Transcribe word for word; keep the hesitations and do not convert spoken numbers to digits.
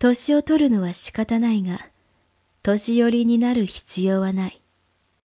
年を取るのは仕方ないが、年寄りになる必要はない。